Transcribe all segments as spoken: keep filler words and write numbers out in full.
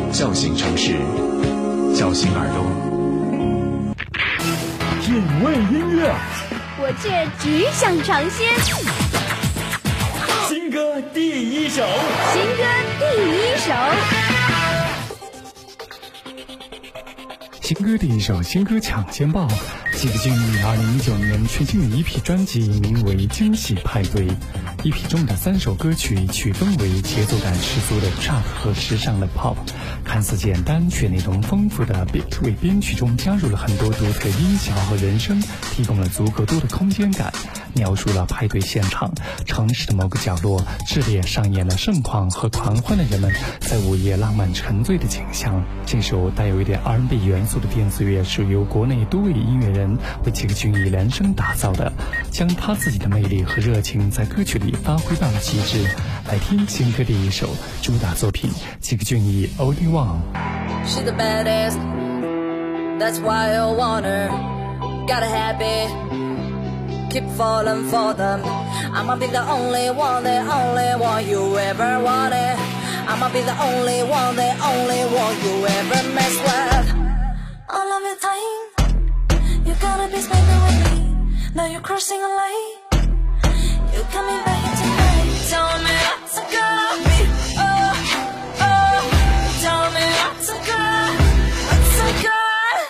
叫醒城市，叫醒耳朵。 品味音乐， 我却只想尝鲜。 新歌第一首， 新歌第一首。 新歌第一首，新歌抢先报。几个俊逸二零一九年全新的一批专辑名为《惊喜派对》，一批中的三首歌曲曲风为节奏感十足的 trap 和时尚的 pop， 看似简单却内容丰富的 beat 为编曲中加入了很多独特音效和人声，提供了足够多的空间感，描述了派对现场城市的某个角落炽烈上演了盛况和狂欢的人们在午夜浪漫沉醉的景象。这首带有一点 R and B 元素的电子乐是由国内多位音乐人为几个俊逸量身打造的，将他自己的魅力和热情在歌曲里发挥到了极致。来听新歌第一首主打作品几个俊逸 Only One。 She's the baddest, that's why I want her, gotta have it, keep falling for them. I'ma be the only one, the only one you ever wanted. I'ma be the only one, the only one you ever mess with. All of your time, you gotta be spending with me. Now you're crossing a line, you coming back tonight. Tell me what's gonna be, oh, oh. Tell me what's good, what's good.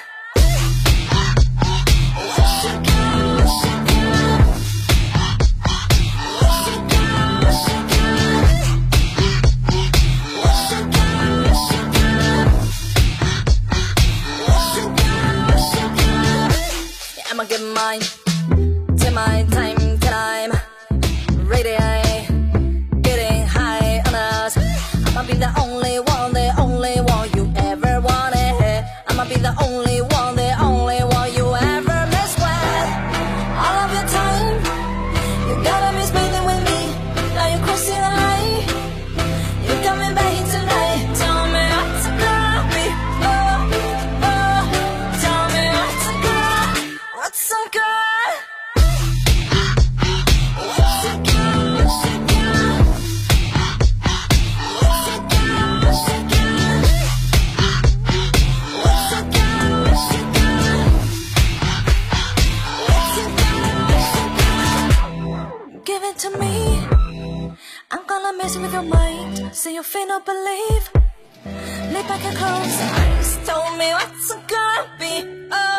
I'ma get mine, take my time, time, ready, getting high on us. I'ma be the only one, the only one you ever wanted. I'ma be the only one, the only one you ever mess with. All of your time, you gotta be spending with me. Now you're crossing the line, you're coming back tonight. Tell me what's gonna be, oh, oh. Tell me what's good, what's so good. Give it to me, I'm gonna mess with your mind, so you feel no believe. Lay back and close your eyes, tell me what's gonna be, oh.